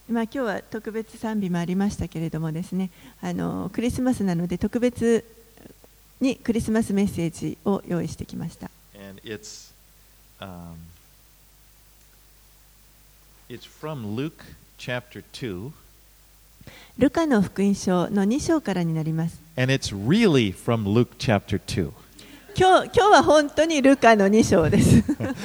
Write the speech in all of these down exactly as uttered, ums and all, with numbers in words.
まあ、今日は特別賛美もありましたけれどもですね、あのクリスマスなので特別にクリスマスメッセージを用意してきました。 And it's, um, it's from Luke chapter two. ルカの福音書のに章からになります。 And it's really from Luke chapter two. 今日、今日は本当にルカのに章です。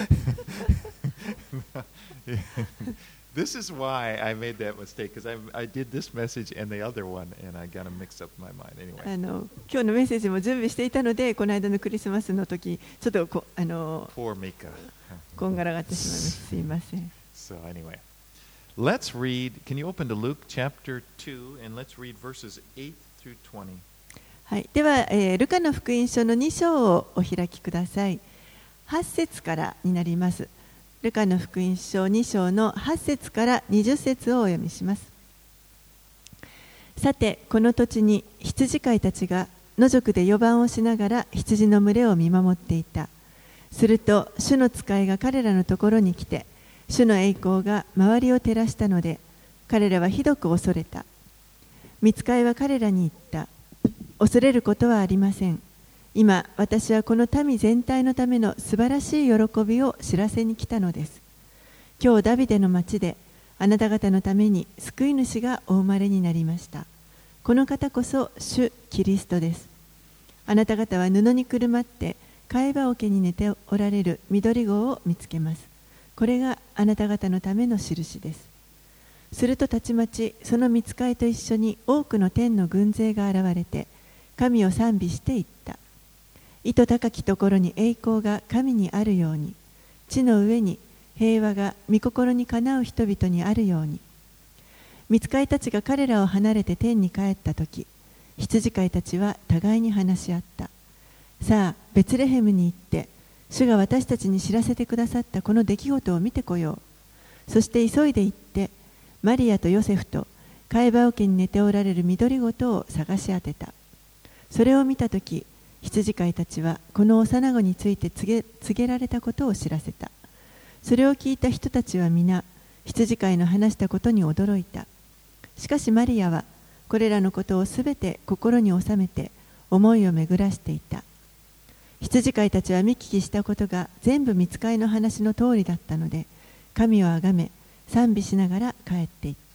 This is why I made that mistake, because I, I did this message and the other one, and I got them mixed up in my mind. Anyway. あの今日のメッセージも準備していたので、この間のクリスマスの時ちょっとこあの Poor Mika. こんがらがってしまいました。すいません。 So anyway, let's read. Can you open to Luke chapter two, and let's read verses eight through twenty. はい、では、えー、ルカの福音書のに章をお開きください。はち節からになります。ルカの福音書に章のはち節からにじゅう節をお読みします。さて、この土地に羊飼いたちが野宿で予番をしながら羊の群れを見守っていた。すると、主の使いが彼らのところに来て、主の栄光が周りを照らしたので、彼らはひどく恐れた。御使いは彼らに言った。恐れることはありません。今、私はこの民全体のための素晴らしい喜びを知らせに来たのです。今日ダビデの町であなた方のために救い主がお生まれになりました。この方こそ主キリストです。あなた方は布にくるまって貝羽桶に寝ておられる緑子を見つけます。これがあなた方のための印です。するとたちまちその御使いと一緒に多くの天の軍勢が現れて神を賛美していった。意図高きところに栄光が神にあるように、地の上に平和が御心にかなう人々にあるように。御使いたちが彼らを離れて天に帰ったとき、羊飼いたちは互いに話し合った。さあ、ベツレヘムに行って、主が私たちに知らせてくださったこの出来事を見てこよう。そして急いで行って、マリアとヨセフと貝羽桶に寝ておられる緑子とを探し当てた。それを見たとき、羊飼いたちはこの幼子について告げ、告げられたことを知らせた。それを聞いた人たちは皆、羊飼いの話したことに驚いた。しかしマリアはこれらのことをすべて心に収めて思いを巡らしていた。羊飼いたちは見聞きしたことが全部御使いの話の通りだったので、神をあがめ、賛美しながら帰っていった。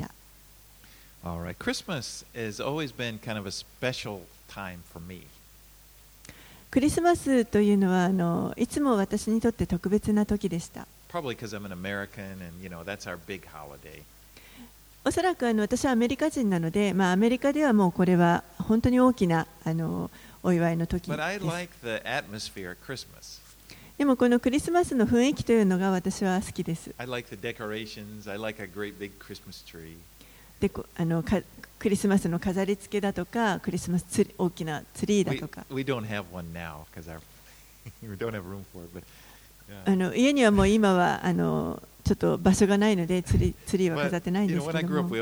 All right. Christmas has always been kind of a special time for me. クリスマスというのはあのいつも私にとって特別な時でした。 Probably because I'm an American and, you know, that's our big holiday. おそらくあの私はアメリカ人なので、まあ、アメリカではもうこれは本当に大きなあのお祝いの時です。 But I like the atmosphere of Christmas. でもこのクリスマスの雰囲気というのが私は好きです。 I like the decorations. I like a great big Christmas tree. であのかクリスマスの飾り付けだとか、クリスマスツリ大きなツリーだとか。 We, we don't have one now because our we don't have room for it. But, yeah. あの家にはもう今はあのちょっと場所がないのでツリー、ツリーは飾ってないんですけども。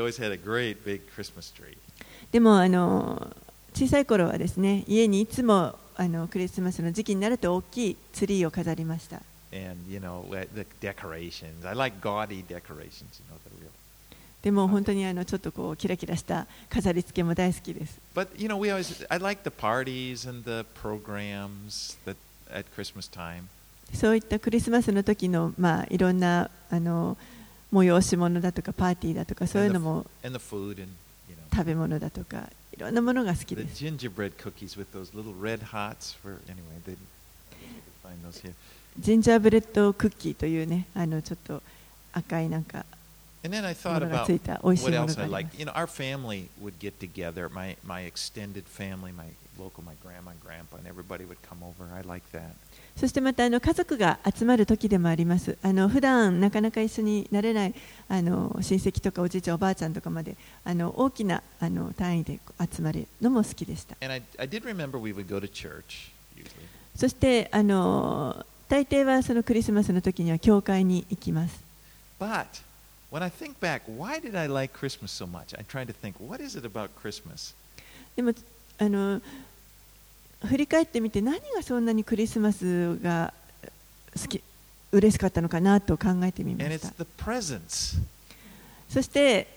でもあの小さい頃はですね、家にいつもあのクリスマスの時期になると大きいツリーを飾りました。 And, you know, the decorations. I like gaudy decorations, you know, the real. でも本当にあのちょっとこうキラキラした飾り付けも大好きです。 But you know, we always I like the parties and the programs that at Christmas time. そういったクリスマスの時のまあいろんなあの催し物だとかパーティーだとかそういうのも and the food and, you know, 食べ物だとかいろんなものが好きです。 The gingerbread cookies with those little red hots for anyway, they find those here. ジンジャーブレッドクッキーというね、あのちょっと赤いなんか。 And then I thought about what else I like. You know, our family would get together. My my extended family, my local, my grandma and grandpa, and everybody would come over. I like that. そしてまたあの家族が集まる時でもあります。あの普段なかなか一緒になれないあの親戚とかおじいちゃんおばあちゃんとかまであの大きなあの単位で集まるのも好きでした。 And I I did remember we would go to church usually. そしてあの大抵はそのクリスマスの時には教会に行きます。 But when I think back, why did I like Christmas so much? I tried to think, what is it about Christmas? でもあの振り返ってみて何がそんなにクリスマスが好き、嬉しかったのかなと考えてみました。 And it's the presents. そして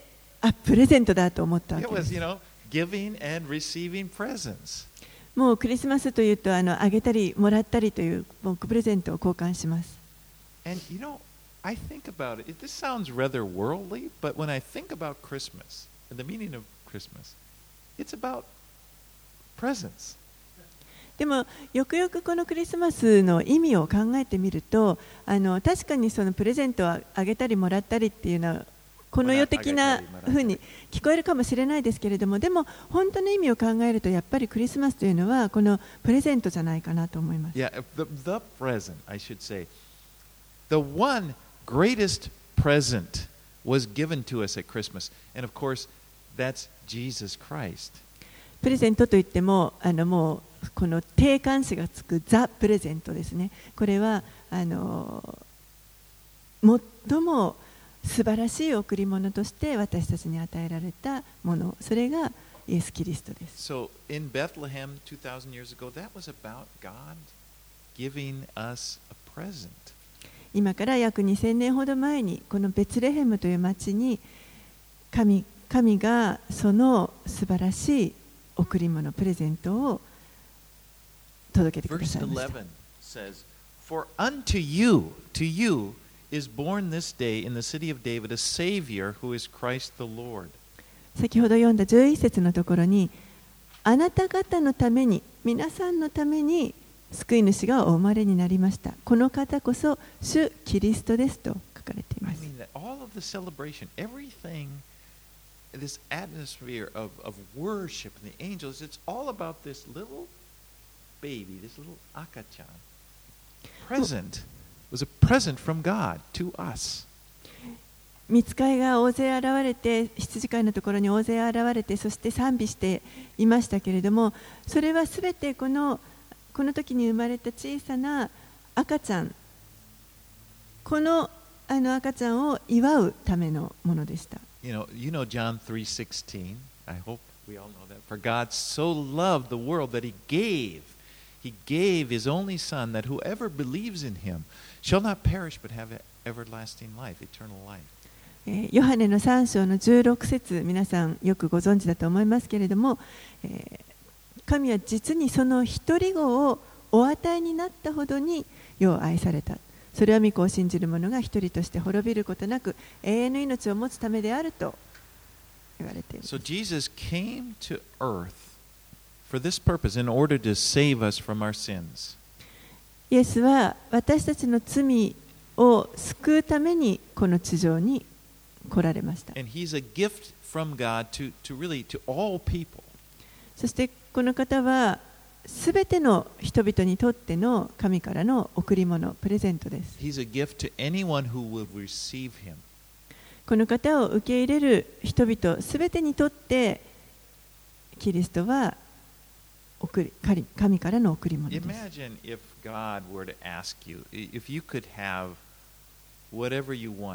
あ、プレゼントだと思ったわ It けで was, す。 you know, giving and receiving presents. もうクリスマスというと、あのあげたりもらったりというもうプレゼントを交換します。 And you know, I think about it. This sounds rather worldly, but when I think about Christmas and the meaning of Christmas, it's about presents. でもよくよくこのクリスマスの意味を考えてみると、あの確かにそのプレゼントをあげたりもらったりっていうのはこの世的なふうに聞こえるかもしれないですけれども、でも本当の意味を考えるとやっぱりクリスマスというのはこのプレゼントじゃないかなと思います。 Yeah, the, the present, I should say. The one greatest present was given to us at Christmas. And of course, that's Jesus Christ. プレゼントといっても、あのもうこの定冠詞がつくザ・プレゼントですね。これはあの最も素晴らしい贈り物として私たちに与えられたもの、それがイエス・キリストです。 So in Bethlehem two thousand years ago, that was about God giving us a present. 今から約にせんねんほど前にこのベツレヘムという町に神、神がその素晴らしい贈り物、プレゼントを届けてくださいました。 Verse eleven says, For unto you, to you, is born this day in the city of David a Savior who is Christ the Lord. 先ほど読んだじゅういっ節のところに、あなた方のために、皆さんのために救い主がお生まれになりました。この方こそ主キリストですと書かれていま I す。 mean, that all of the celebration, everything, this atmosphere of, of worship and the angels, it's all about this little baby, this little akachan. Present was a present from God to us. 御使いが大勢現れて、羊飼いのところに大勢現れて、そして賛美していましたけれども、それはすべてこのこの時に生まれた小さな赤ちゃん、このあの赤ちゃんを祝うためのものでした。 You know, you know John three sixteen. I hope we all know that. For God so loved the world that he gave, he gave his only Son, that whoever believes in him shall not perish but have everlasting life, eternal life. ヨハネのさん章のじゅうろく節、皆さんよくご存知だと思いますけれども、えー、神は実にその一人子をお与えになったほどに世を愛された。それは御子を信じる者が一人として滅びることなく永遠の命を持つためであると言われています。 So Jesus came to earth for this purpose in order to save us from our sins. イエスは私たちの罪を救うためにこの地上に来られました。 And he's a gift from God to, to really to all people. そしてこの方はすべての人々にとっての神からの贈り物、プレゼントです。 He's a gift to anyone who will receive him. この方を受け入れる人々すべてにとってキリストは贈り神からの贈り物です。 Imagine if God were to ask you, if you could have whatever you wanted.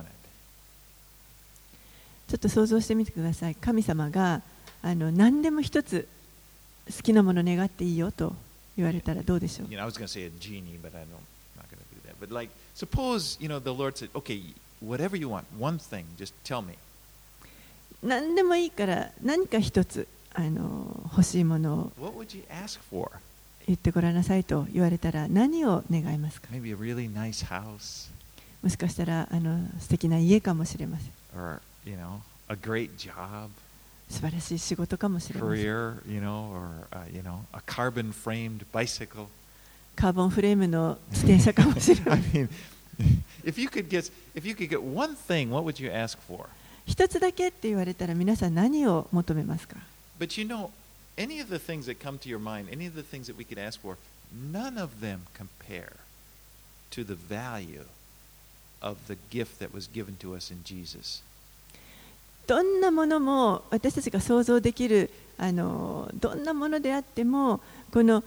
ちょっと想像してみてください。神様があの何でも一つ好きなもの願っていいよと言われたらどうでしょう。 You know, I was going to say a genie, but I don't, I'm not going to do that. But like, suppose, you know, the Lord said, okay, whatever you want, one thing, just tell me. 何でもいいから何か一つあの欲しいものを What would you ask for? 言ってごらんなさいと言われたら何を願いますか。 Maybe a really nice house, もしかしたらあの素敵な家かもしれません。 or, you know, a great job, 素晴らしい仕事かもしれません。 career, you know, or, uh, you know, a carbon-framed bicycle. カーボンフレームの自転車かもしれま I せん。 mean, if you could get, if you could get one thing, what would you ask for? 一つだけって言われたら皆さん何を求めますか。 But you know, any of the things that come to your mind, any of the things that we could ask for, none of them compare to the value of the gift that was given to us in Jesus. どんなものも私たちが想像できるあのどんなものであってもこの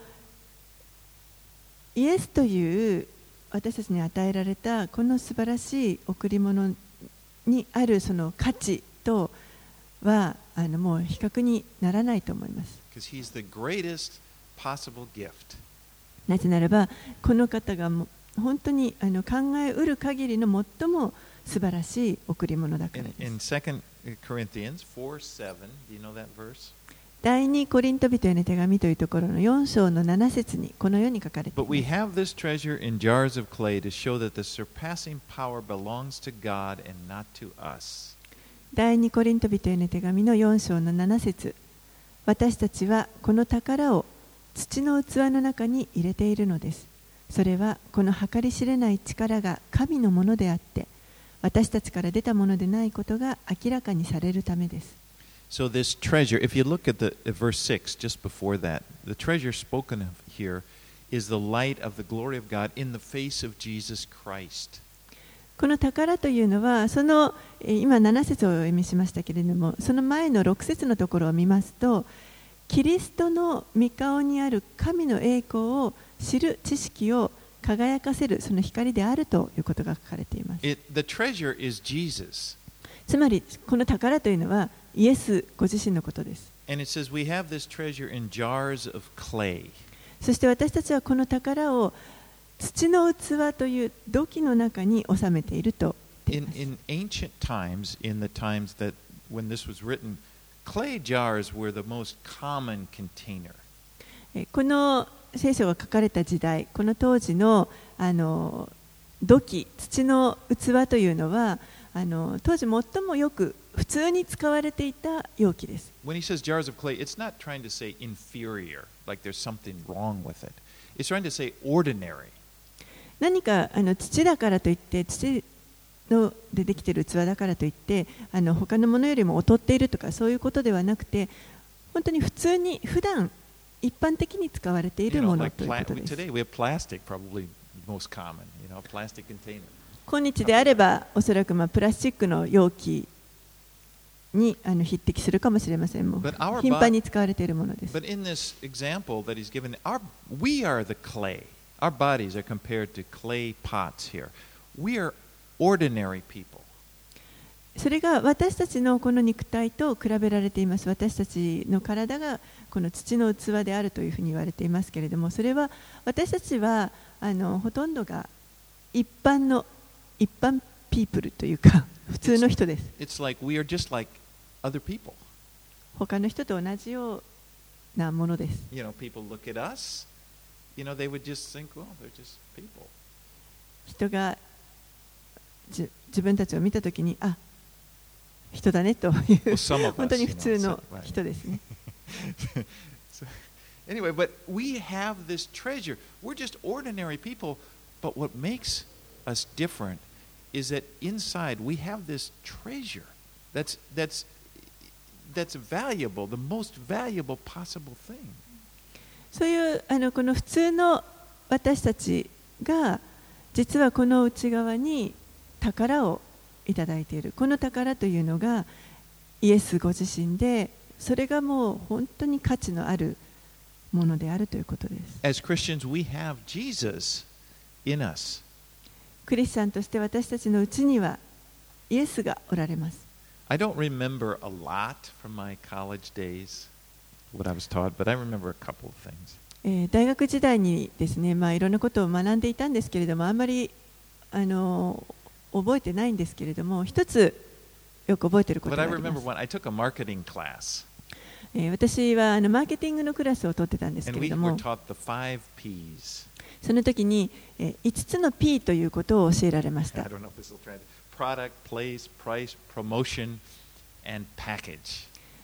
イエスという私たちに与えられたこの素晴らしい贈り物にあるその価値とはあのもう比較にならないと思います。 Because he's the greatest possible gift. ななぜならばこの方がも本当にあの考えうる限りの最も素晴らしい贈り物だから In, です。 in Second Corinthians four seven, do you know that verse? 第二コリント人への手紙というところのよん章のなな節にこのように書かれてい But we ます。 have this treasure in jars of clay to show that the surpassing power belongs to God and not to us. 第二コリント人への手紙のよん章のなな節、私たちはこの宝を土の器の中に入れているのです。それはこの計り知れない力が神のものであって、私たちから出たものでないことが明らかにされるためです。 So this treasure, if you look at the at verse six, just before that, the treasure spoken of here is the light of the glory of God in the face of Jesus Christ. この宝というのは、そのえー今なな節をお読みしましたけれども、その前のろく節のところを見ますと、キリストの御顔にある神の栄光を知る知識を輝かせるその光であるということが書かれています。 It, the treasure is Jesus. つまりこの宝というのはイエスご自身のことです。 And it says we have this treasure in jars of clay. そして私たちはこの宝を土の器という土器の中に収めていると言ってい In, ます。 in ancient times, in the times that when this was written, clay jars were the most common container. えこの聖書が書かれた時代、この当時のあの土器、土の器というのはあの当時最もよく普通に使われていた容器です。 When he says jars of clay, it's not trying to say inferior, like there's something wrong with it. It's trying to say ordinary. 何かあの土だからといって土のでできている器だからといってあの他のものよりも劣っているとかそういうことではなくて、本当に普通に普段一般的に使われてい You る know, もの like という pla- ことです。 today we have plastic, probably most common, you know, plastic container. 今日であればおそらくまあプラスチックの容器にあの匹敵するかもしれません。もう But our 頻繁に使われているものです。 But in this example that he's given, our, we are the clay. Our bodies are compared to clay pots here. We are ordinary people. それが私たちのこの肉体と比べられています。私たちの体がこの土の器であるというふうに言われていますけれども、それは私たちはあのほとんどが一般の一般ピープルというか普通の人です。 It's like we are just like other people. 他の人と同じようなものです。 You know, people look at us, you know, they would just think, well, they're just people. 人がじ自分たちを見たときに、あ、人だねという Well, some of 本当 us, に you 普 know, 通の so- right. 人ですね。 So, anyway, but we have this treasure. We're just ordinary people, but what makes us different is that inside we have this treasure that's that's that's valuable, the most valuable possible thing. そういうあのこの普通の私たちが実はこの内側に宝をいただいている。この宝というのがイエスご自身で、それがもう本当に価値のあるものであるということです。 As Christians, we have Jesus in us. クリスチャンとして私たちのうちにはイエスがおられます。 I don't remember a lot from my college days, what I was taught, but I remember a couple of things. えー大学時代にですね、まあ、いろんなことを学んでいたんですけれども、あんまりあの覚えてないんですけれども、一つよく覚えていること But が I ありま remember す。 when I took a marketing class, えー私はあのマーケティングのクラスを取ってたんです and けれ we ど were も、 taught the five P's. その時に、えー、いつつの P ということを教えられまし I た。 don't know if this will try to product, place, price, promotion, and package.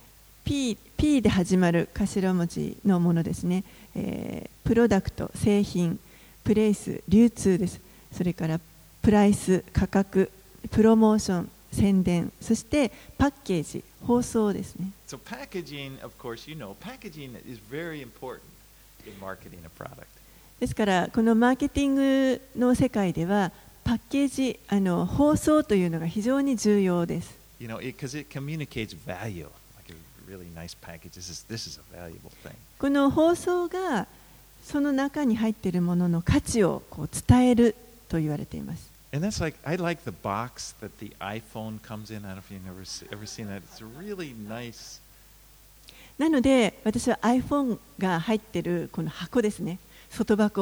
P, P で始まる頭文字のものですね。えープロダクト、製品、プレイス、流通です。それからプライス、価格、プロモーション、宣伝、そしてパッケージ、包装ですね。 So packaging, of course, you know, packaging is very important in marketing a product. ですからこのマーケティングの世界ではパッケージ、あの包装というのが非常に重要です。 You know, because it, it communicates value. Like a really nice package. This is this is a valuable thing. この包装がその中に入っているものの価値をこう伝えると言われています。 And that's like I like the box that the iPhone comes in. I don't know if you've ever se- ever seen that. It's a really nice. なので私は iPhone が入っているこの箱ですね。外箱。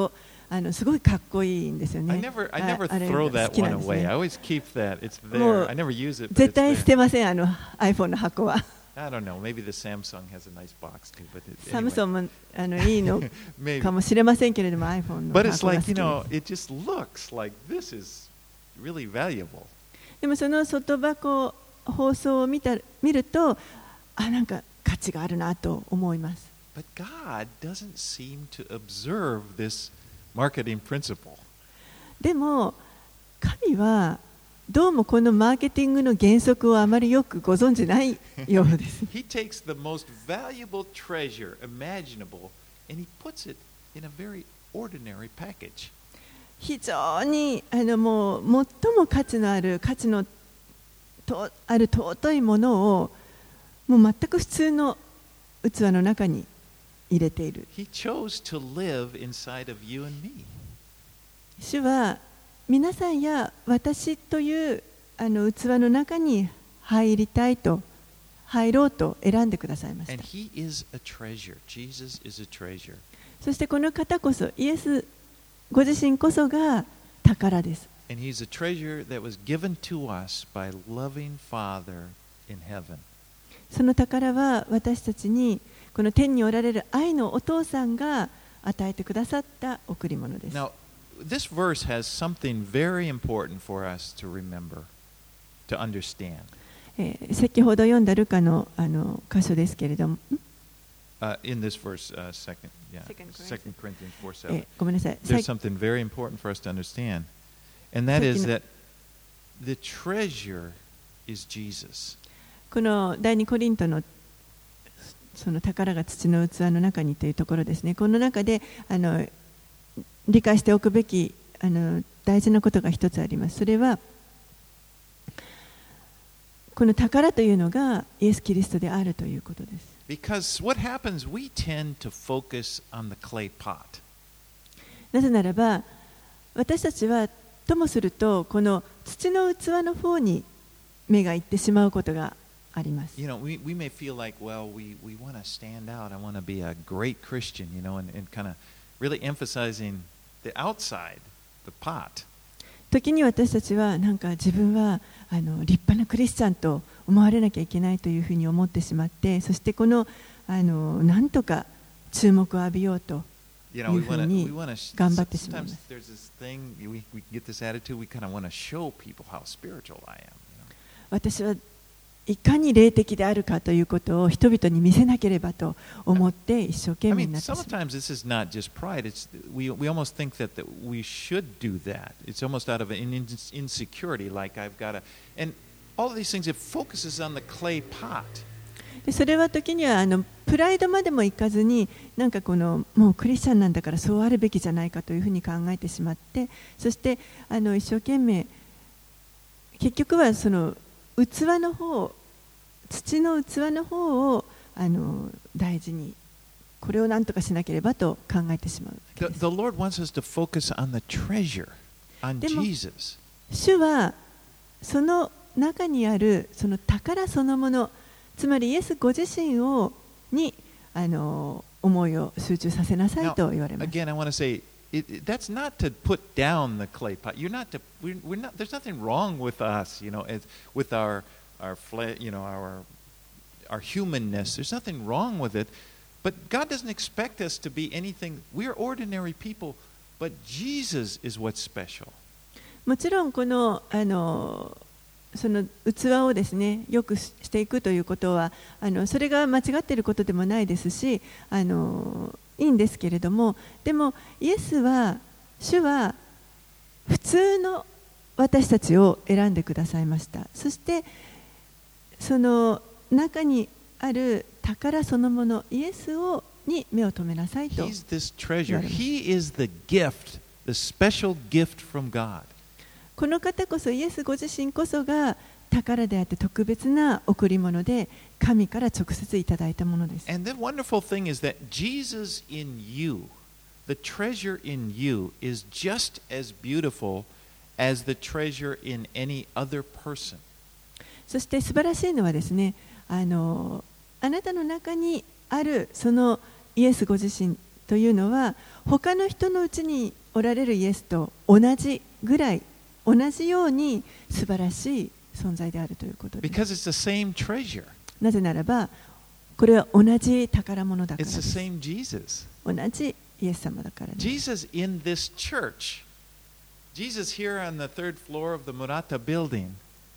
あのすごいかっこいいんですよ I ね。 never, I あ never あれ throw 好 that きな one んです away. I ね。 always keep that. It's も there. う I never use it, but 絶 it's 対捨 there. てません、あの iPhone の箱は。 I don't know. Maybe the Samsung has a nice box too, but it, サム anyway. ソンもあのいいの Maybe. かもしれませんけれども iPhone の But 箱 it's が好 like, き you で know, す。 it just looks like this is really valuable. でもその外箱放送を見た見ると、あ、なんか価値があるなと思います。 But God doesn't seem to observe this marketing principle. でも神はどうもこのマーケティングの原則をあまりよくご存じないようです。 He takes the most valuable treasure imaginable and he puts it in a very ordinary package. 非常にあのもう最も価値のある価値のとある尊いものをもう全く普通の器の中に入れている。 He chose to live inside of you and me. 主は皆さんや私というあの器の中に入りたいと入ろうと選んでくださいまし And た。 he is a treasure. Jesus is a treasure. そしてこの方こそイエスご自身こそが宝です。 And he's a treasure that was given to us by loving Father in heaven. その宝は私たちにこの天におられる愛のお父さんが与えてくださった贈り物です。 Now, this verse has something very important for us to remember, to understand. えー先ほど読んだルカのあの箇所ですけれども、ん Uh, in this verse, uh, second, yeah, Second Corinthians. Second Corinthians four え seven. ーごめんなさい。 There's さ something very important for us to understand, and that is Second- that the treasure is Jesus. この第二コリントのその宝が土の器の中にというところですね。この中であの理解しておくべきあの大事なことが一つあります。それはこの宝というのがイエス・キリストであるということです。 Because what happens, we tend to focus on the clay pot. なぜならば私たちはともするとこの土の器の方に目がいってしまうことがあります。 You know, we, we may feel like, well, we, we want to stand out. I want to be a great Christian, you know, and, and kind of really emphasizing the outside, the pot. 時に私たちはなんか自分はあの立派なクリスチャンと思われなきゃいけないというふうに思ってしまって、そしてこのあのなんとか注目を浴びようと You know, we いうふう want to, に we want to, 頑張ってしまいま sometimes す。 there's this thing, we, we get this attitude, we kind of want to show people how spiritual I am. You know? 私はいかに霊的であるかということを人々に見せなければと思って一生懸 I 命 mean, になってしまう。 sometimes this is not just pride. It's we we almost think that, that we should do that. It's almost out of an in, insecurity, like I've got to. And all of these things, it focuses on the clay pot. でそれは時にはあのプライドまでもいかずになんかこのもうクリスチャンなんだからそうあるべきじゃないかというふうに考えてしまって、そしてあの一生懸命結局はその器の方、土の器の方をあの大事にこれを何とかしなければと考えてしまうわけ The, です。 the Lord wants us to focus on the treasure, on でも、 Jesus. 主はその中にあるその宝そのもの、つまりイエスご自身をにあの思いを集中させなさい Now, と言われます。 again, I want to say it, it, that's not to put down the clay pot. You're not to. We're, we're not. There's nothing wrong with us, you know, as, with our our flesh, you know, our our humanness. There's nothing wrong with it. But God doesn't expect us to be anything. We're ordinary people, but Jesus is what's special. もちろんこのあのその器をですねよくしていくということはあのそれが間違っていることでもないですし、あのいいんですけれども、でもイエスは主は普通の私たちを選んでくださいました。そしてその中にある宝そのものイエスをに目を留めなさいと。 He's this treasure. He is the gift, the special gift from God. この方こそイエスご自身こそが宝であって特別な贈り物で神から直接いただいたものです。 And the wonderful thing is that Jesus in you, the treasure in you, is just as beautiful as the treasure in any other person. そして素晴らしいのはですね、あのあなたの中にあるそのイエスご自身というのは他の人のうちにおられるイエスと同じぐらい、同じように素晴らしい存在であるということです。 Because it's the same treasure. なぜならば、これは同じ宝物だから It's で the す。 same Jesus. 同じイエス様だからです。 Jesus in this church, Jesus here on the third floor of the Murata building,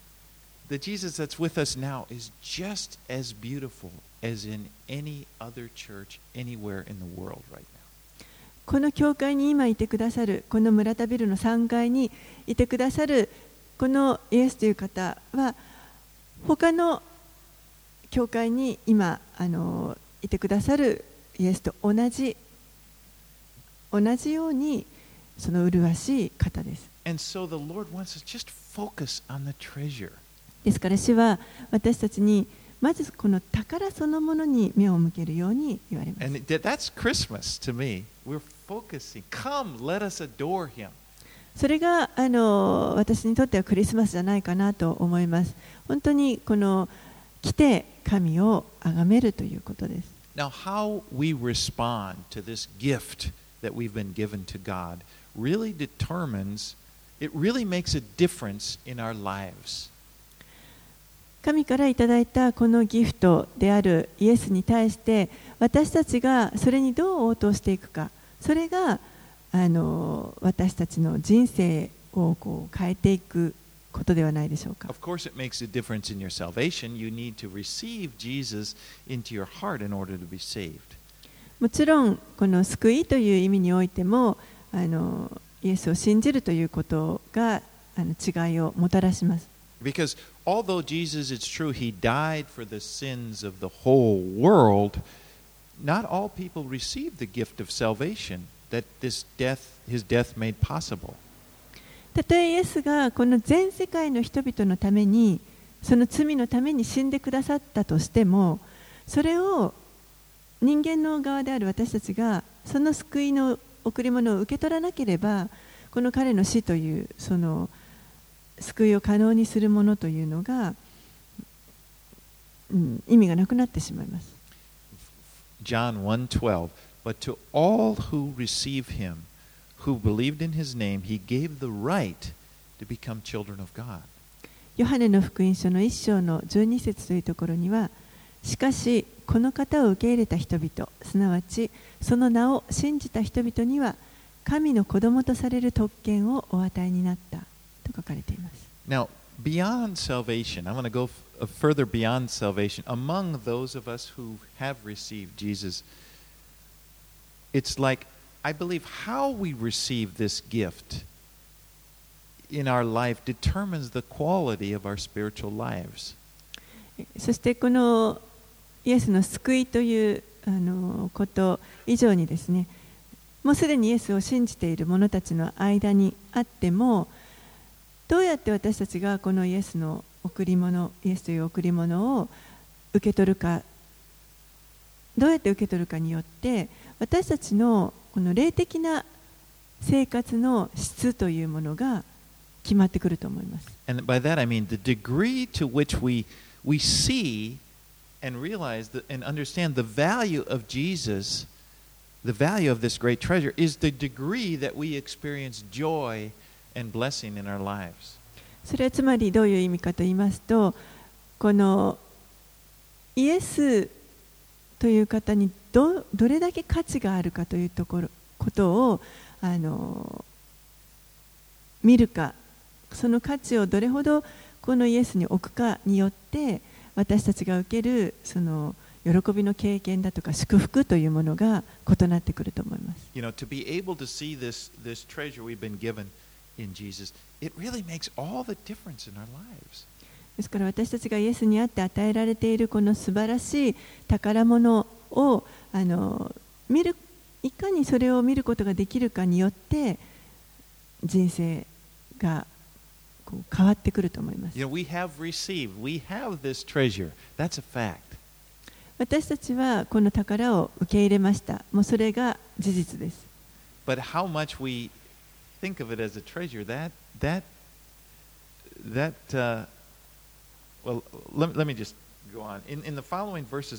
the Jesus that's with us now is just as beautiful as in any other church anywhere in the world right now. この教会に今いてくださる、この村田ビルのさんがいにいてくださるこのイエスという方は、他の教会に今あのいてくださるイエスと同じ同じようにその麗しい方です。 And so the Lord wants us just focus on the treasure. ですから主は私たちにまずこの宝そのものに目を向けるように言われます。 And it- that's Christmas to me. We're focusing. Come, let us adore Him. それがあの私にとってはクリスマスじゃないかなと思います。本当にこの来て神を崇めるということです。 Now, how we respond to this gift that we've been given to God really determines, it really makes a difference in our lives. 神からいただいたこのギフトであるイエスに対して私たちがそれにどう応答していくか、それがあの私たちの人生をこう変えていくことではないでしょうか。 Of course, it makes a difference in your salvation. You need to receive Jesus into your heart in order to be saved. もちろんこの救いという意味においてもあのイエスを信じるということがあの違いをもたらします。 Because although Jesus, it's true, He died for the sins of the whole world, not all people received the gift of salvation that this death, His death made possible. たとえイエスがこの全世界の人々のためにその罪のために死んでくださったとしても、それを人間の側である私たちがその救いの贈り物を受け取らなければ、この彼の死というその救いを可能にするものというのが、うん、意味がなくなってしまいます。 John one twelve, but to all who receive Him, who believed in His name, He gave the right to become children of God. ヨハネの福音書の一章のじゅうに節というところには、しかしこの方を受け入れた人々、すなわちその名を信じた人々には神の子供とされる特権をお与えになったと書かれています。 Now, beyond salvation, I want to go f- further beyond salvation. Among those of us who have received Jesus, it's like, I believe how we receive this gift in our life determines the quality of our spiritual lives. そしてこのイエスの救いというあのこと以上にですね、もうすでにイエスを信じている者たちの間にあっても、どうやって私たちがこのイエスの贈り物、イエスという贈り物を受け取るか、どうやって受け取るかによって、私たちのこの霊的な生活の質というものが決まってくると思います。 And by that I mean the degree to which we, we see and realize the, and understand the value of Jesus, the value of this great treasure, is the degree that we experience joy and blessing in our lives. それはつまりどういう意味かと言いますと、このイエスという方に ど, どれだけ価値があるかというところことをあの見るか、その価値をどれほどこのイエスに置くかによって私たちが受けるその喜びの経験だとか祝福というものが異なってくると思います。 You know, to be able to see this, this treasure we've been given in Jesus, it really makes all the difference in our lives. ですから私たちがイエスにあって与えられているこの素晴らしい宝物をあの見る、いかにそれを見ることができるかによって人生がこう変わってくると思います。 You know, we have received, we have this treasure. That's a fact. 私たちはこの宝を受け入れました。もうそれが事実です。 But how much we think of it as a treasure, that, that, that, uh, well, let, let me just go on. In, in the following verses,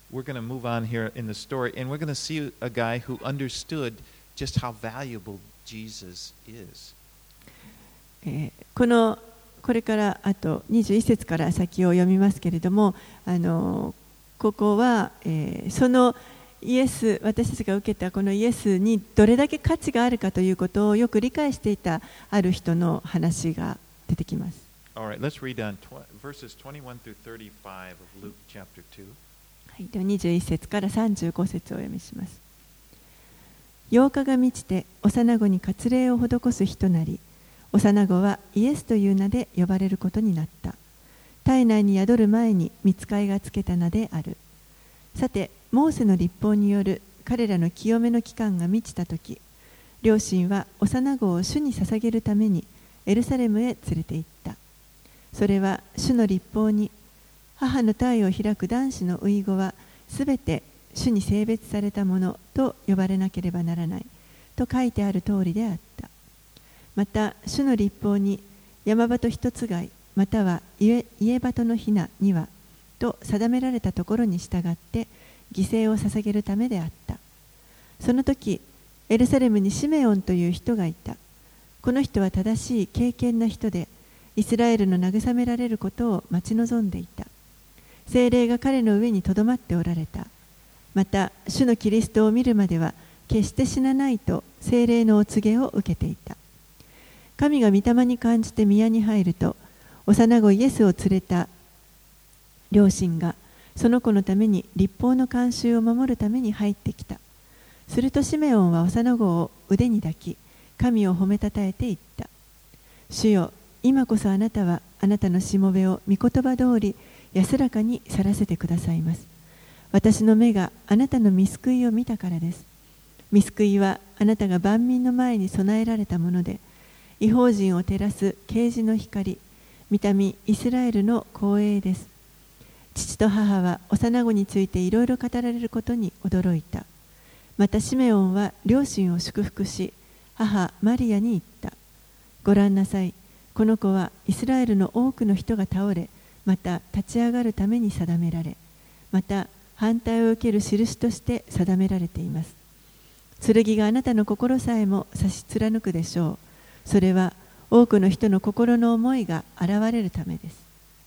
we're going to move on here in the story, and we're going to see a guy who understood just how valuable Jesus is. えーこのこれからあとにじゅういっ節から先を読みますけれども、あのここは、えーそのイエス、私たちが受けたこのイエスにどれだけ価値があるかということをよく理解していたある人の話が出てきます。 All right, let's read on tw- verses twenty-one through thirty-five of Luke chapter two. はい、ではにじゅういっ節からさんじゅうご節をお読みします。ようかが満ちて幼子に割礼を施す日となり、幼子はイエスという名で呼ばれることになった。体内に宿る前に御使いがつけた名である。さて、モーセの律法による彼らの清めの期間が満ちたとき、両親は幼子を主に捧げるためにエルサレムへ連れて行った。それは主の律法に、母の胎を開く男子の初子はすべて主に性別されたものと呼ばれなければならないと書いてある通りであった。また主の律法に山鳩一つ貝または家鳩のひなに羽と定められたところに従って犠牲を捧げるためであった。その時エルサレムにシメオンという人がいた。この人は正しい敬虔な人でイスラエルの慰められることを待ち望んでいた。聖霊が彼の上にとどまっておられた。また主のキリストを見るまでは決して死なないと聖霊のお告げを受けていた。神が御霊に感じて宮に入ると、幼子イエスを連れた両親がその子のために律法の慣習を守るために入ってきた。するとシメオンは幼子を腕に抱き、神を褒めたたえて言った。主よ、今こそあなたはあなたのしもべを御言葉通り安らかに去らせてくださいます。私の目があなたの御救いを見たからです。御救いはあなたが万民の前に備えられたもので、異邦人を照らす啓示の光、御民イスラエルの光栄です。父と母は幼子についていろいろ語られることに驚いた。またシメオンは両親を祝福し、母マリアに言った。ご覧なさい、この子はイスラエルの多くの人が倒れ、また立ち上がるために定められ、また反対を受ける印として定められています。剣があなたの心さえも差し貫くでしょう。それは多くの人の心の思いが現れるためです。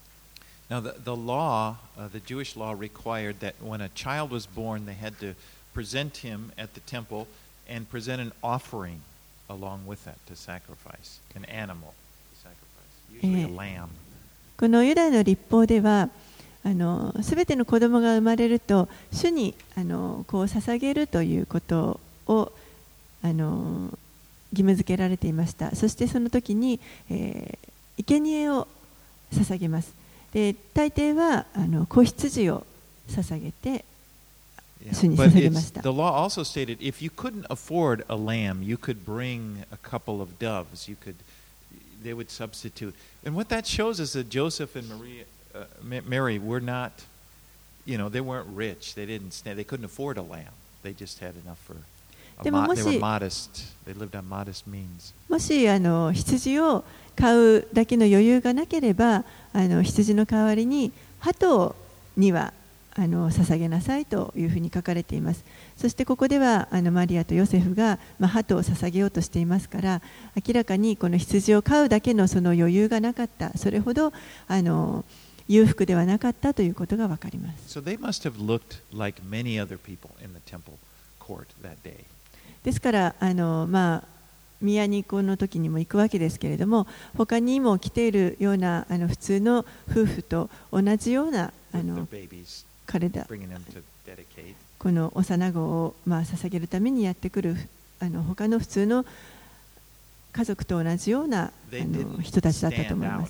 Now, the, the law, uh, the Jewish law required that when a child was born, they had to present him at the temple and present an offering along with that to sacrifice, an animal to sacrifice, usually a lamb. このユダヤの律法では、あのすべての子供が生まれると主にあのこう捧げるということをあの義務付けられていました。そしてその時に、えー、生贄を捧げます。で、大抵はあの子羊を捧げて主に捧げました。 The law also stated if you couldn't afford a lamb, you could bring a couple of doves. You could, they would substitute. And what that shows is that Joseph and Maria, uh, Mary were not, you know, they weren't rich. They didn't stand. They couldn't afford a lamb. They just had enough for. でももし They were modest. They lived on modest means. もしあの羊を買うだけの余裕がなければ、あの羊の代わりに鳩にはあの捧げなさいというふうに書かれています。そしてここではあのマリアとヨセフが、まあ、鳩を捧げようとしていますから、明らかにこの羊を飼うだけのその余裕がなかった、それほどあの裕福ではなかったということがわかります。 So they must have looked like many other people in the temple court that day. ですからあの、まあ、宮にこの時にも行くわけですけれども、他にも来ているようなあの普通の夫婦と同じようなあの彼らこの幼子を、まあ、捧げるためにやってくるあの他の普通の家族と同じようなあの人たちだったと思います。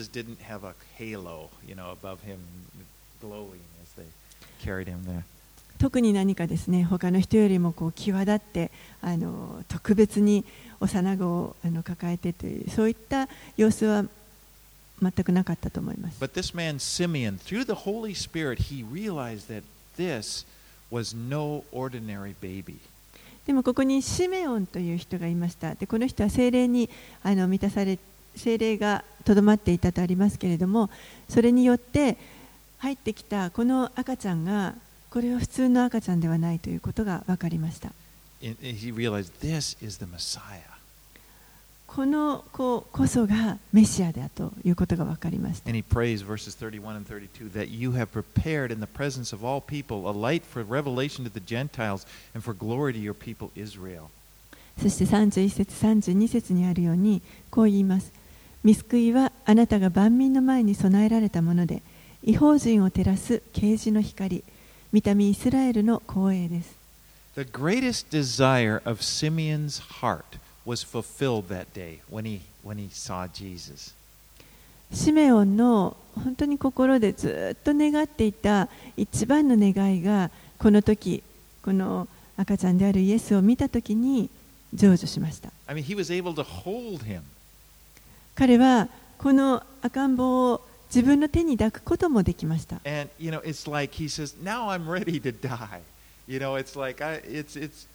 特に何かですね、他の人よりもこう際立ってあの特別に幼子をあの抱えてというそういった様子は全くなかったと思います。 But this man Simeon, through the Holy Spirit, he realized that this was no ordinary baby. でもここにシメオンという人がいました。で、この人は聖霊にあの満たされ、聖霊がとどまっていたとありますけれども、それによって入ってきたこの赤ちゃんがこれは普通の赤ちゃんではないということが分かりました。 And he realized this is the Messiah. この子こそがメシアだということが分かりました。 And he prays verses thirty-one and thirty-two that you have prepared in the presence of all people a light for revelation to the Gentiles and for glory to your people Israel. そしてさんじゅういっ節さんじゅうに節にあるようにこう言います。御救いはあなたが万民の前に備えられたもので、異邦人を照らす啓示の光、御民イスラエルの光栄です。 The greatest desire of Simeon's heart was fulfilled that day when he, when he saw Jesus. シメオンの本当に心でずっと願っていた一番の願いがこの時、この赤ちゃんであるイエスを見た時に成就しました。 I mean, he was able to hold him. 彼はこの赤ん坊を自分の手に抱くこともできました。 And, you know, it's like he says, now I'm ready to die. You know, it's like, I, it's, it's,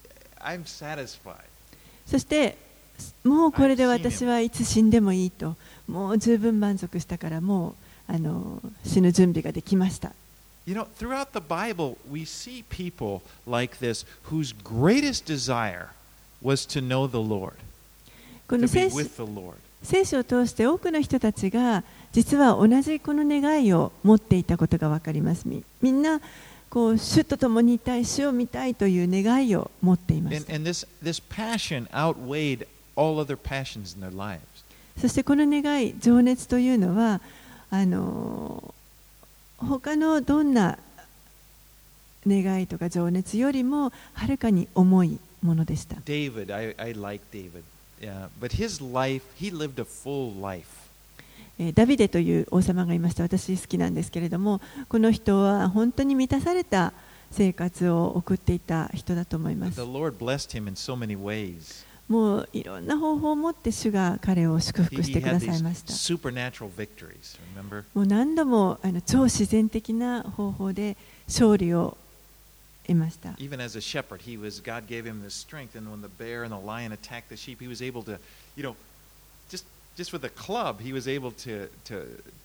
I'm satisfied. そしてもうこれで私はいつ死んでもいいと、もう十分満足したからもうあの死ぬ準備ができました。 You know, throughout the Bible, we see people like this whose greatest desire was to know the Lord, こ to の be 聖書 with the Lord. 聖書を通して多くの人たちが実は同じこの願いを持っていたことが分かります。み, みんなこう主と共にいたい、主を見たいという願いを持っていまし And, た。 and this, this passion outweighed all other passions in their lives. そしてこの願い、情熱というのはあの他のどんな願いとか情熱よりもはるかに重いものでした。 David, I, I like David, yeah, but his life, he lived a full life. えーダビデという王様がいました。私好きなんですけれども、この人は本当に満たされた生活を送っていた人だと思いま The す。 Lord blessed him in so many ways. もういろんな方法を持って主が彼を祝 He, 福して he くだ had さい these ました。 supernatural victories, remember? もう何度もあの超自然的な方法で勝利を得ました。 Even as a shepherd, he was, God gave him this strength, and when the bear and the lion attacked the sheep, he was able to, you know, just just with a club, he was able to to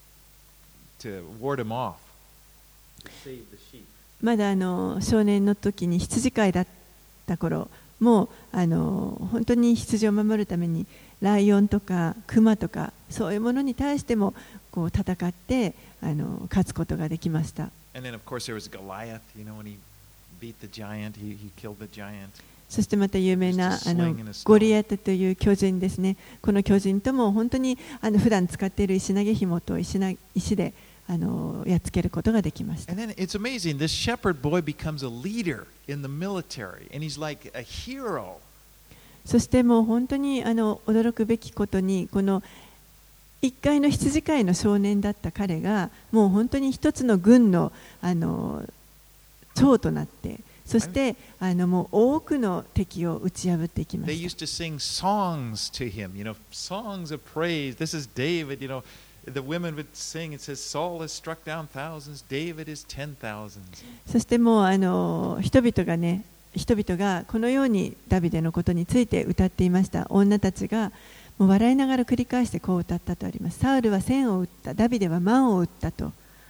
to ward him off, to save the sheep. まだあの少年の時に羊飼いだった頃、もうあの本当に羊を守るためにライオンとかクマとかそういうものに対してもこう戦ってあの勝つことができました。 And then, of course, there was Goliath. You know, when he beat the giant, he he killed the giant. そしてまた有名なあのゴリアテという巨人ですね。この巨人とも本当にあの普段使っている石投げ紐と石な石であのやっつけることができました。 And then it's amazing. This shepherd boy becomes a leader in the military, and he's like a hero. そしてもう本当にあの驚くべきことに、この一階の羊飼いの少年だった彼がもう本当に一つの軍のあの長となって、そしてあのもう多くの敵を打ち破っていきま They し used to sing songs to him, you know, songs of praise. This is David, you know. The women would sing. It says, Saul has struck down thousands, David is ten thousands. た。そしてもうあの人々がね、人々がこのようにダビデのことについて歌っていました。女たちがもう笑いながら繰り返してこう歌ったとあります。サウルは千を打った、ダビデは万を打ったと。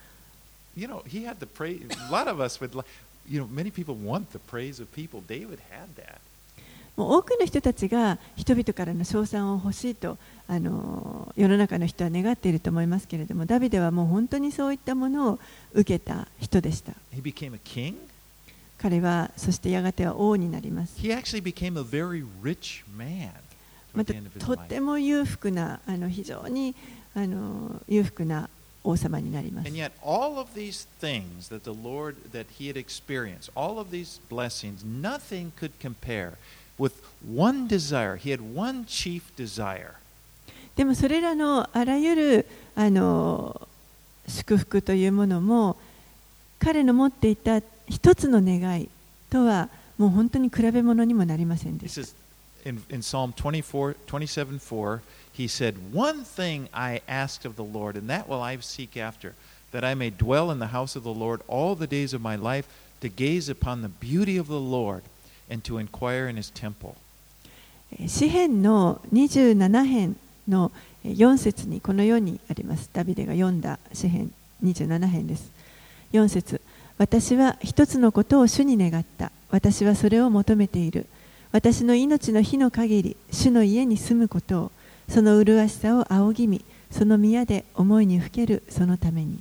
You know, he had the praise. A lot of us would, you know, many people want the praise of people. David had that. もう多くの人たちが人々からの称賛を欲しいとあの世の中の人は願っていると思いますけれども、ダビデはもう本当にそういったものを受けた人でした。 He became a king. 彼はそしてやがては王になります。 He actually became a very rich man ま toward た the end of his と life. ても裕福なあの非常にあの裕福な王様になります。 And yet, all of these things that the Lord, that he had experienced, all of these blessings, nothing could compare with one desire. He had one chief desire. でもそれらのあらゆるあの祝福というものも彼の持っていた一つの願いとはもう本当に比べ物にもなりませんで He した。 says in, in Psalm twenty-four, twenty-seven, four, he said, One thing I asked of the Lord, and that will I seek after, that I may dwell in the house of the Lord all the days of my life, to gaze upon the beauty of the Lord and to inquire in his temple. 詩編のにじゅうなな編のよん節にこのようにあります。ダビデが読んだ詩編にじゅうなな編です。よん節、 私は一つのことを主に願った。私はそれを求めている。私の命の日の限り、主の家に住むことを、その麗しさを仰ぎ見、その宮で思いにふけるそのために。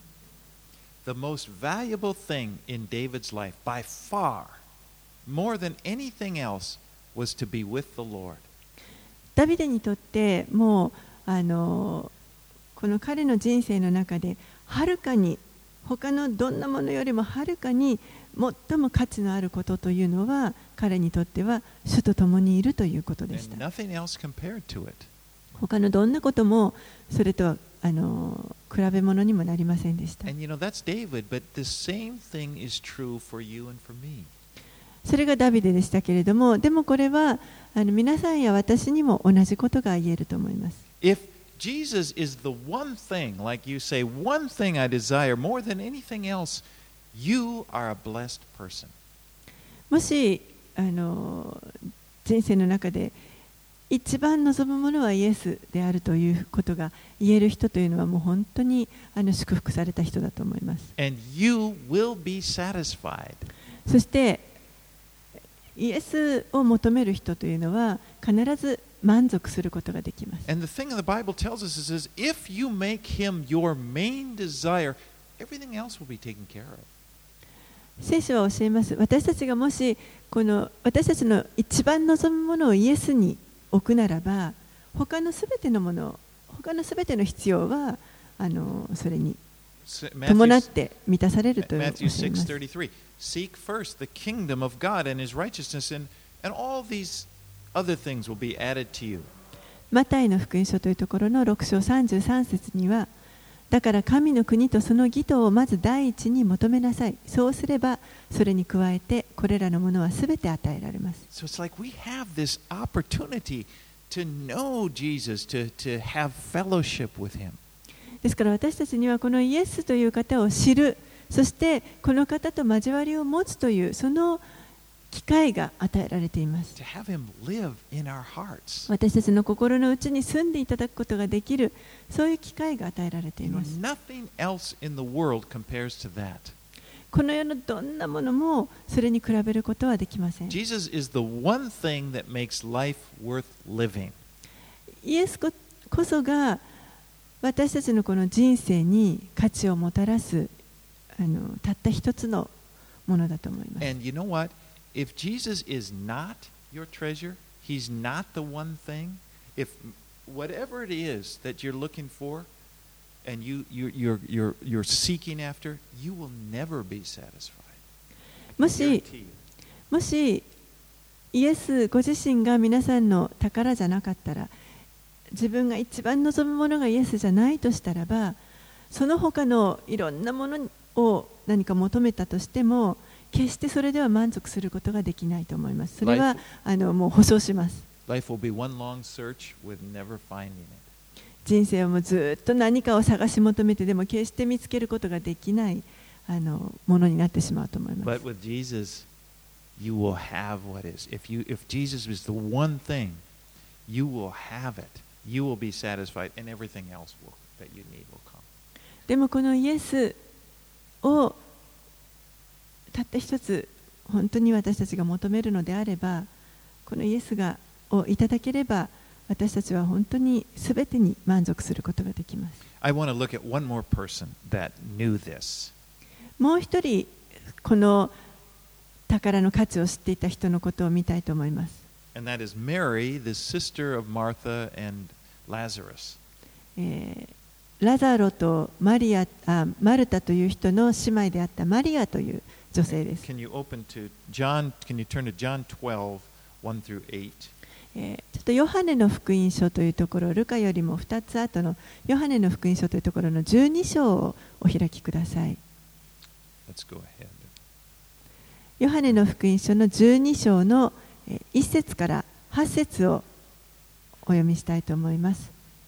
The most valuable thing in David's life, by far, more than anything else, was to be with the Lord. ダビデにとってもうあのこの彼の人生の中ではるかに他のどんなものよりもはるかに最も価値のあることというのは彼にとっては主と共にいるということでした。 And nothing else compared to it. 他のどんなこともそれとはあの比べ物にもなりませんでした。 And you know, that's David, but the same thing is true for you and for me. それがダビデでしたけれども、でもこれはあの皆さんや私にも同じことが言えると思います。 If Jesus is the one thing, like you say, one thing I desire more than anything else, you are a blessed person. もしあの人生の中で一番望むものはイエスであるということが言える人というのはもう本当にあの祝福された人だと思います。 And you will be satisfied. そしてイエスを求める人というのは必ず満足することができます。 And the thing the Bible tells us is, is if you make him your main desire, everything else will be taken care of. 聖書は教えます。私たちがもしこの私たちの一番望むものをイエスに置くならば、他のすべてのもの、他のすべての必要はあのそれに伴って満たされるという教えます。 Matthew six thirty-three. Seek first the kingdom of God and his righteousness, and, and all these other things will be added to you. マタイの福音書というところのろく章さんじゅうさん節には、だから神の国とその義とをまず第一に求めなさい。そうすればそれに加えてこれらのものはすべて与えられます。 So it's like we have this opportunity to know Jesus, to, to have fellowship with him. ですから私たちにはこのイエスという方を知る、そしてこの方と交わりを持つというその機会が与えられています。 To have him live in our hearts. 私たちの心の内に住んでいただくことができる、そういう機会が与えられてい You know, ます。 nothing else in the world compares to that. この世のどんなものもそれに比べることはできません。 Jesus is the one thing that makes life worth living. イエスここそが私たちのこの人生に価値をもたらすあのたった一つのものだと思います。 And you know what? If Jesus is not your treasure, he's not the one thing, if whatever it is that you're looking for and you, you, you're, you're, you're seeking after, you will never be satisfied. もし、もしイエスご自身が皆さんの宝じゃなかったら、自分が一番望むものがイエスじゃないとしたらば、その他のいろんなものを何か求めたとしても、決してそれでは満足することができないと思います。それはあのもう保証します。 Life will be one long search with never finding it. 人生はもうずっと何かを探し求めてでも決して見つけることができないあのものになってしまうと思います。 But with Jesus, you will have what is. If you, if Jesus is the one thing, you will have it. You will be satisfied, and everything else will, that you need will come. でもこのイエスをたった一つ本当に私たちが求めるのであれば、このイエスがをいただければ私たちは本当にすべてに満足することができます。 I want to look at one more person that knew this. もう一人この宝の価値を知っていた人のことを見たいと思います。 And that is Mary, the sister of Martha and Lazarus. えーラザロとマリアあマルタという人の姉妹であったマリアという女性です。 Can you open to John? Can you turn to John twelve, one through eight? えーちょっとヨハネの福音書というところ、ルカよりもふたつ後のヨハネの福音書というところのじゅうに章をお開きください。 Let's go ahead. ヨハネの福音書のじゅうに章のいっ節からはち節をお読みしたいと思います。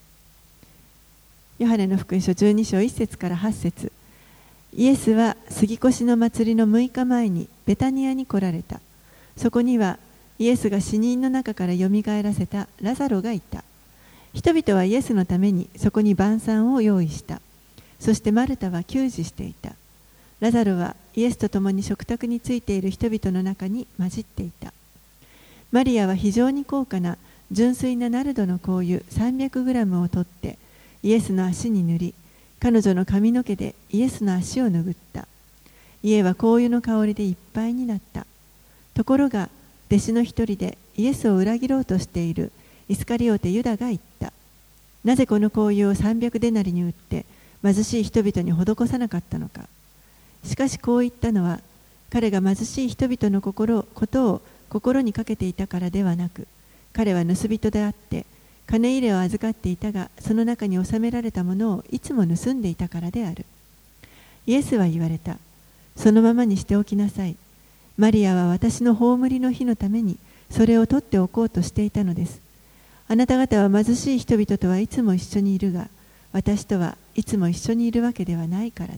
ヨハネの福音書じゅうに章いっ節からはち節。イエスは杉越の祭りのむいかまえにベタニアに来られた。そこにはイエスが死人の中からよみがえらせたラザロがいた。人々はイエスのためにそこに晩餐を用意した。そしてマルタは給仕していた。ラザロはイエスと共に食卓についている人々の中に混じっていた。マリアは非常に高価な純粋なナルドの香油さんびゃくグラムを取ってイエスの足に塗り、彼女の髪の毛でイエスの足を拭った。家は香油の香りでいっぱいになった。ところが弟子の一人でイエスを裏切ろうとしているイスカリオテユダが言った。なぜこの香油をさんびゃくデナリに売って貧しい人々に施さなかったのか。しかしこう言ったのは、彼が貧しい人々の心ことを心にかけていたからではなく、彼は盗人であって金入れを預かっていたが、その中に収められたものをいつも盗んでいたからである。イエスは言われた。そのままにしておきなさい。マリアは私の葬りの日のためにそれを取っておこうとしていたのです。あなた方は貧しい人々とはいつも一緒にいるが、私とはいつも一緒にいるわけではないからです。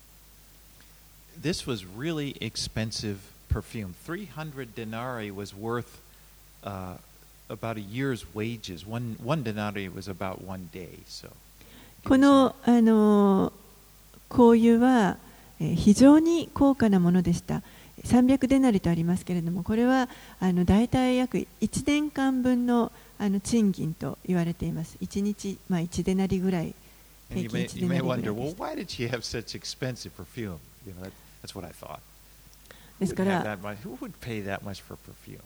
This was really expensive perfume. three hundred denarii was worth uh, about a year's wages. One, one denarii was about one day. So, この、あの香油は、えー、非常に高価なものでした。さんびゃくデナリとありますけれども、これはあの大体約いちねんかんぶんのあの賃金と言われています。いちにち、まあ、いちデナリぐらい。 And you may, you may wonder, well, why did she have such expensive perfume? You know, that, that's what I thought. ですから、 who would pay that much for perfume?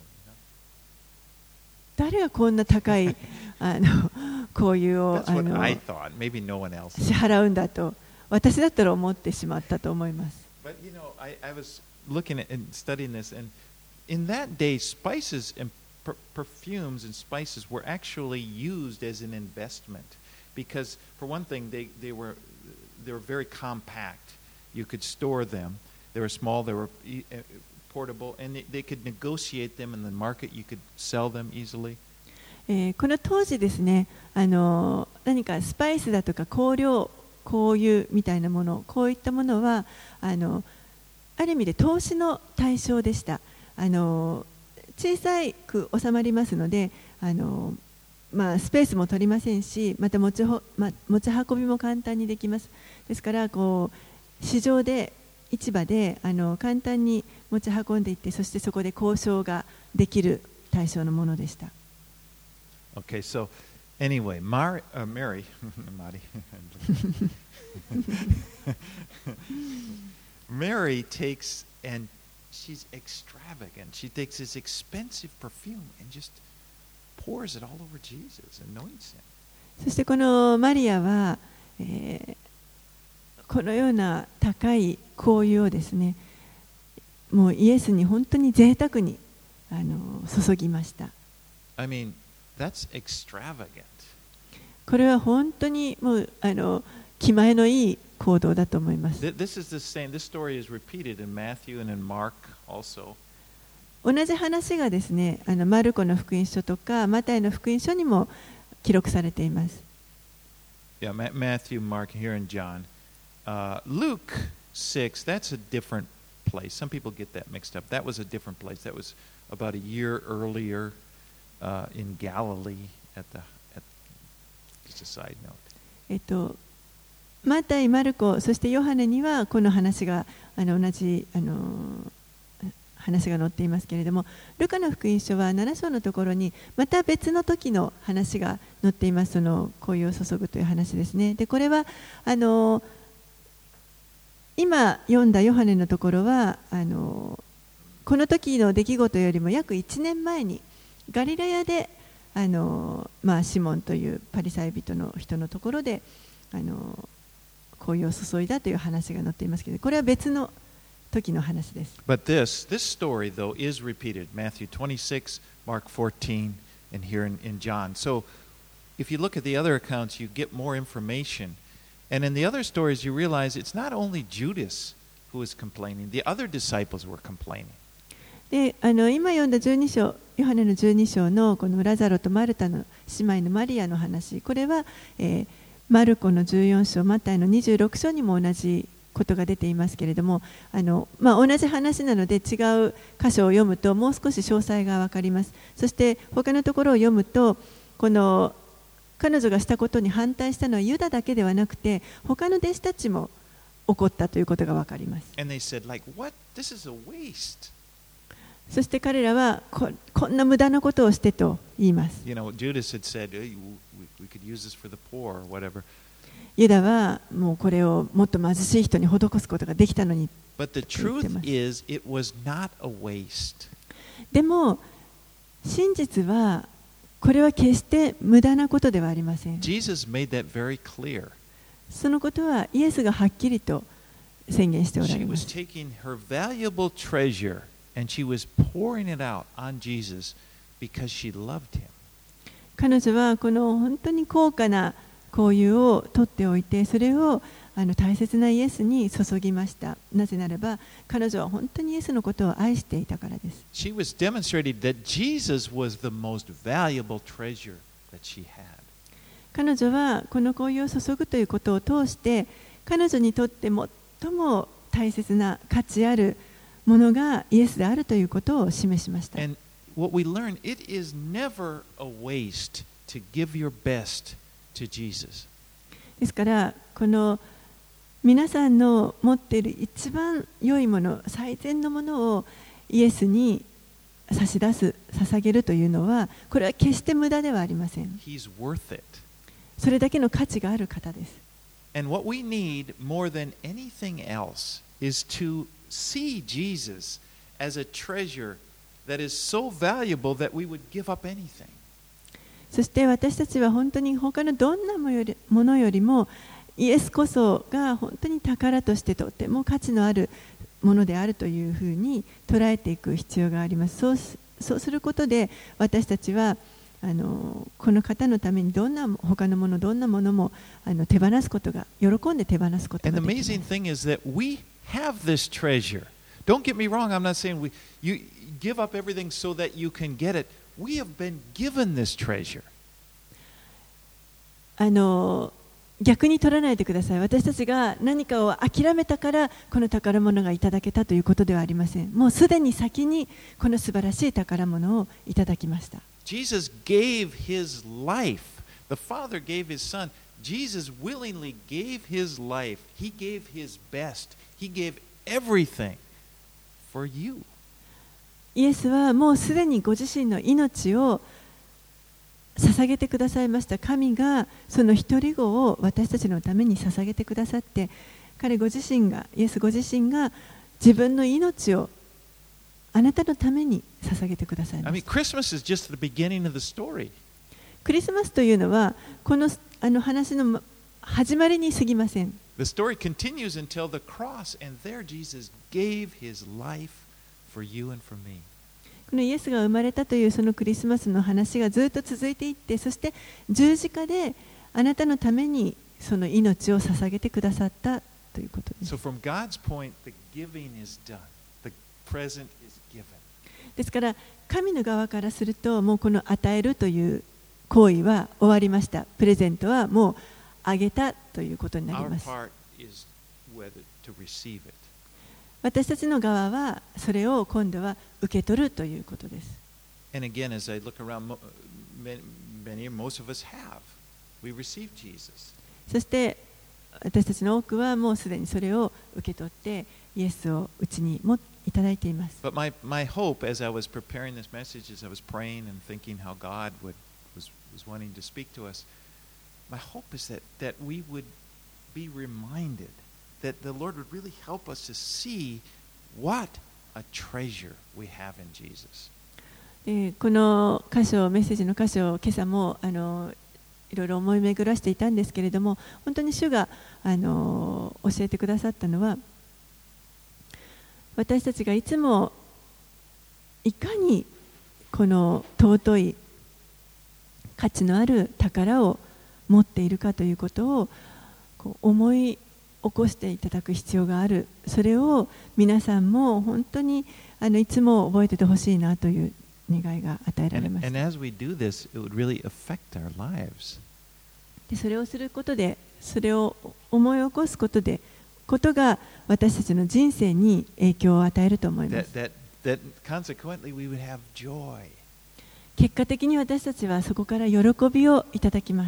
誰がこんな高いあの香油をあの I thought. Maybe no one else. 支払うんだと、私だったら思ってしまったと思います。 But you know, I, I was looking at and studying this, and in that day, spices and per perfumes and spices were actually used as an investment, because for one thing, they they were they were very compact. You could store them. They were small. They were portable, and they, they could negotiate them in the market. You could sell them easily. えー、この当時ですね、あの何かスパイスだとか香料、香油みたいなもの、こういったものはあのある意味で投資の対象でした。あの小さく収まりますので、あの、まあ、スペースも取りませんし、また持ちほ、ま、持ち運びも簡単にできます。ですからこう市場で市場であの簡単に持ち運んでいって、そしてそこで交渉ができる対象のものでした。 Okay, so anyway, Mar uh, Mary, Mari, Mary takes and she's extravagant. She takes this expensive perfume and just pours it all over Jesus, anoints him. そしてこのマリアは、えー、このような高い香油をですね、もうイエスに本当に贅沢にあの注ぎました。 I mean, that's extravagant. これは本当にもうあの気前のいい行動だと思います。 This is the same. This story is repeated in Matthew and in Mark also. 同じ話がですね、あのマルコの福音書とかマタイの福音書にも記録されています。 Yeah, Matthew, Mark, here in John. Uh, Luke six, that's a different place. Some people get that mixed up. That was a different place. That was about a year earlier uh, in Galilee at the, at, just a side note. えっと、マタイ、マルコ、そしてヨハネにはこの話があの同じあの話が載っていますけれども、ルカの福音書はなな章のところにまた別の時の話が載っています。その香油を注ぐという話ですね。で、これはあの今読んだヨハネのところはあのこの時の出来事よりも約いちねんまえにガリラヤであの、まあ、シモンというパリサイ人の人のところであの香油を注いだという話が載っていますけど、これは別の時の話です。 But this, this story, though, is repeated. Matthew twenty-six, Mark fourteen, and here in, in John. So if you look at the other accounts, you get more information. And in the other stories, you realize it's not only Judas who was complaining. The other disciples were complaining. で、あの今読んだじゅうに章、ヨハネのじゅうに章のこのラザロとマルタの姉妹のマリアの話、これは、えー、マルコのじゅうよん章、マタイのにじゅうろく章にも同じことが出ていますけれども、あの、まあ、同じ話なので違う箇所を読むともう少し詳細が分かります。そして他のところを読むと、この彼女がしたことに反対したのはユダだけではなくて他の弟子たちも怒ったということがわかります。 And they said, like, what? This is a waste. そして彼らは こ, こんな無駄なことをしてと言います。 You know, Judas had said, hey, we, we could use this for the poor or whatever. ユダはもうこれをもっと貧しい人に施すことができたのに。 But the truth is, it was not a waste. でも真実はこれは決して無駄なことではありません。 Jesus made that very clear. そのことはイエスがはっきりと宣言しておら She れま was す。 taking her valuable treasure and she was pouring it out on Jesus because she loved him. 彼女はこの本当に高価な香油を取っておいて、それをあの大切なイエスに注ぎました。なぜならば彼女は本当にイエスのことを愛していたからです。 She was demonstrating that Jesus was the most valuable treasure that she had. 彼女はこの香油を注ぐということを通して彼女にとって最も大切な価値あるものがイエスであるということを示しました。 And what we learn, it is never a waste to give your best to Jesus. ですからこの皆さんの持っている一番良いもの、最善のものをイエスに差し出す、捧げるというのは、これは決して無駄ではありません。 He's worth it. それだけの価値がある方です。 And what we need more than anything else is to see Jesus as a treasure that is so valuable that we would give up anything. そして私たちは本当に他のどんなものよりもイエスこそが本当に宝としてとても価値のあるものであるというふうに捉えていく必要があります。そう、そうすることで私たちはあのこの方のためにどんな他のものどんなものもあの手放すことが喜んで手放すことが And で the き amazing ます。 thing is that we have this treasure. Don't get me wrong, I'm not saying we, you give up everything so that you can get it. We have been given this treasure. あの逆に取らないでください。私たちが何かを諦めたからこの宝物がいただけたということではありません。もうすでに先にこの素晴らしい宝物をいただきました。 Jesus gave his life. The Father gave his Son. Jesus willingly gave his life. He gave his best. He gave everything for you. イエスはもうすでにご自身の命を捧げてくださいました。神がその一人子を私たちのために捧げてくださって、彼ご自身が、イエスご自身が自分の命をあなたのために捧げてくださいま I し mean, た。 Christmas is just the beginning of the story. クリスマスというのはこの、あの話の始まりに過ぎません。 The story continues until the cross, and there Jesus gave his life for you and for me. このイエスが生まれたというそのクリスマスの話がずっと続いていって、そして十字架であなたのためにその命を捧げてくださったということです。 So from God's point, the giving is done. The present is given. ですから神の側からするともうこの与えるという行為は終わりました。プレゼントはもうあげたということになり Our ます。 part is whether to receive it. 私たちの側はそれを今度は受け取るということです。 And again, as I look around, mo- many, many, most of us have. We received Jesus. そして私たちの多くはもうすでにそれを受け取ってイエスをうちにもいただいています。 But my, my hope as I was preparing this message, as I was praying and thinking how God would, was, was wanting to speak to us, my hope is that, that we would be reminded that the Lord would really help us to see what a treasure we have in Jesus. でこの箇所、メッセージの箇所を今朝もあのいろいろ思い巡らしていたんですけれども、本当に主があの教えてくださったのは、私たちがいつもいかにこの尊い価値のある宝を持っているかということをこう思い起こしていただく必要がある。それを皆さんも本当にあのいつも覚えててほしいなという願いが与えられ And, まし and た。 as we do this, it would really affect our lives. でそれをすることで、それを思い起こすことで、ことが私たちの人生に影響を与えると思いま That, す。 that, that consequently we would have joy. 結果的に私たちはそこから喜びをいただきます。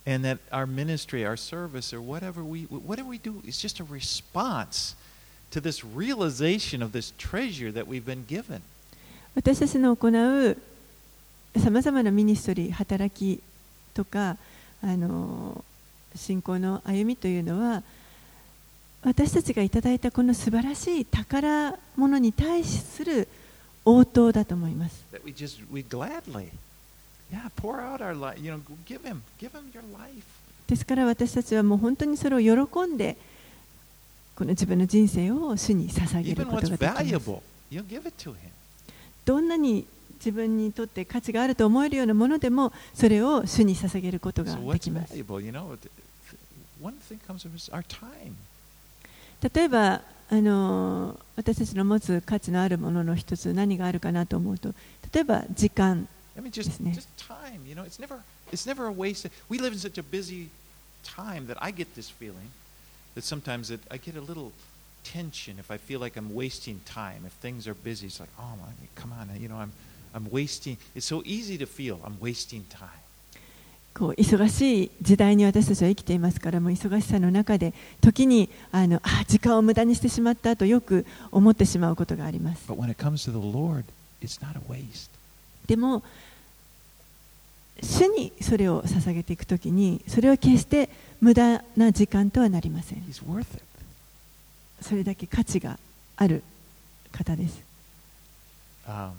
And that our ministry, our service, or whatever we, whatever we do is just a response to this realization of this treasure that we've been given. 私たちの行うさまざまなミニストリー、働きとか、あの信仰の歩みというのは、私たちがいただいたこの素晴らしい宝物に対する応答だと思います。 That we just, we gladly, yeah, pour out our life, you know, give him, give him your life. ですから私たちはもう本当にそれを喜んで、この自分の人生を主に捧げる Even こと what's ができます。 valuable, you give it to him. どんなに自分にとって価値があると思えるようなものでも、それを主に捧げることが So で what's きます。 valuable, you know, one thing comes of is our time. 例えばあの私たちの持つ価値のあるものの一つ、何があるかなと思うと、例えば時間 I mean, で just, すね。 just time, you know, it's never, it's never a waste. We live in such a busy time that I get this feeling that sometimes it, I get a little tension if I feel like I'm wasting time. If things are busy, it's like, oh my, come on, you know, I'm, I'm wasting. It's so easy to feel I'm wasting time. こう忙しい時代に私たちは生きていますから、もう忙しさの中で時にあのあ時間を無駄にしてしまったとよく思ってしまうことがあります。 But when it comes to the Lord, it's not a waste. でも主にそれを捧げていくときに、それは決して無駄な時間とはなりません。 He's worth it. それだけ価値がある方です。 Um,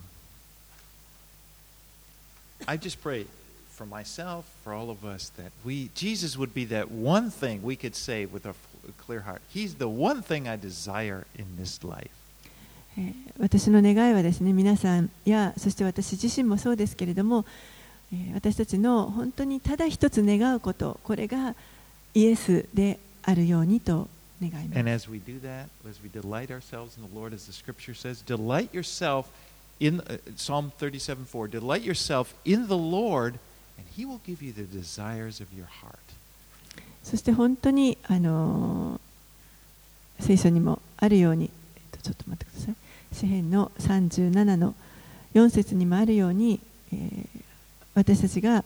I just pray for myself, for all of us, that we, Jesus would be that one thing we could say with a clear heart. He's the one thing I desire in this life. えー私の願いはですね、皆さんやそして私自身もそうですけれども、えー私たちの本当にただ一つ願うこと、これがイエスであるようにと願います。 And as we do that, as we delight ourselves in the Lord, as the Scripture says, delight yourself in uh, Psalm thirty-seven four. Delight yourself in the Lord, and He will give you the desires of your heart. そして本当にあのー聖書にもあるように、えっと、ちょっと待ってください。詩編のさんじゅうななのよん節にもあるように、えー私たちが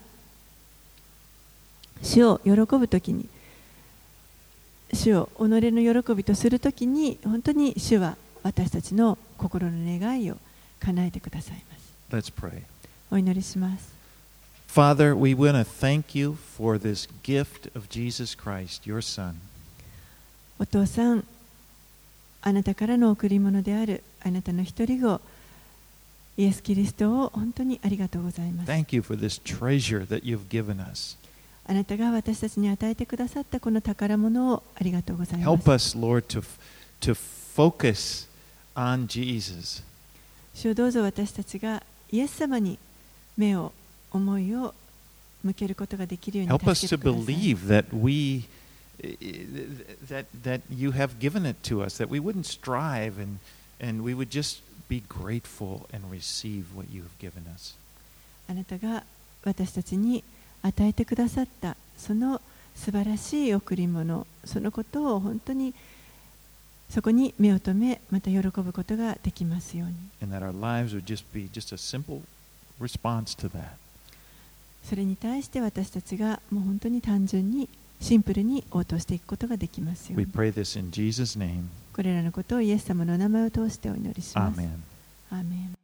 主を喜ぶときに、主を己の喜びとするときに、本当に主は私たちの心の願いを叶えてくださいます。 Let's pray. お祈りします。 Father, we want to thank you for this gift of Jesus Christ, your Son. お父さん、あなたからの贈り物であるあなたの一人子イエス・キリストを本当にありがとうございます。 Thank you for this treasure that you've given us. あなたが私たちに与えてくださったこの宝物をありがとうございま Help す。 us, Lord, to, to focus on Jesus. 主よどうぞ私たちがイエス様に目を、思いを向けることができるように Help us 助 to けてください。 believe that we that that you have given it to us, that we wouldn't strive and and we would just be grateful and receive what you have given us. あなたが私たちに与えてくださったその素晴らしい贈り物、そのことを本当にそこに目を留め、また喜ぶことができますように。 And that our lives would just be just a simple response to that. それに対して私たちがもう本当に単純にシンプルに応答していくことができますよう We に。 pray this in Jesus' name. これらのことをイエス様の名前を通してお祈りします。 Amen. アーメン。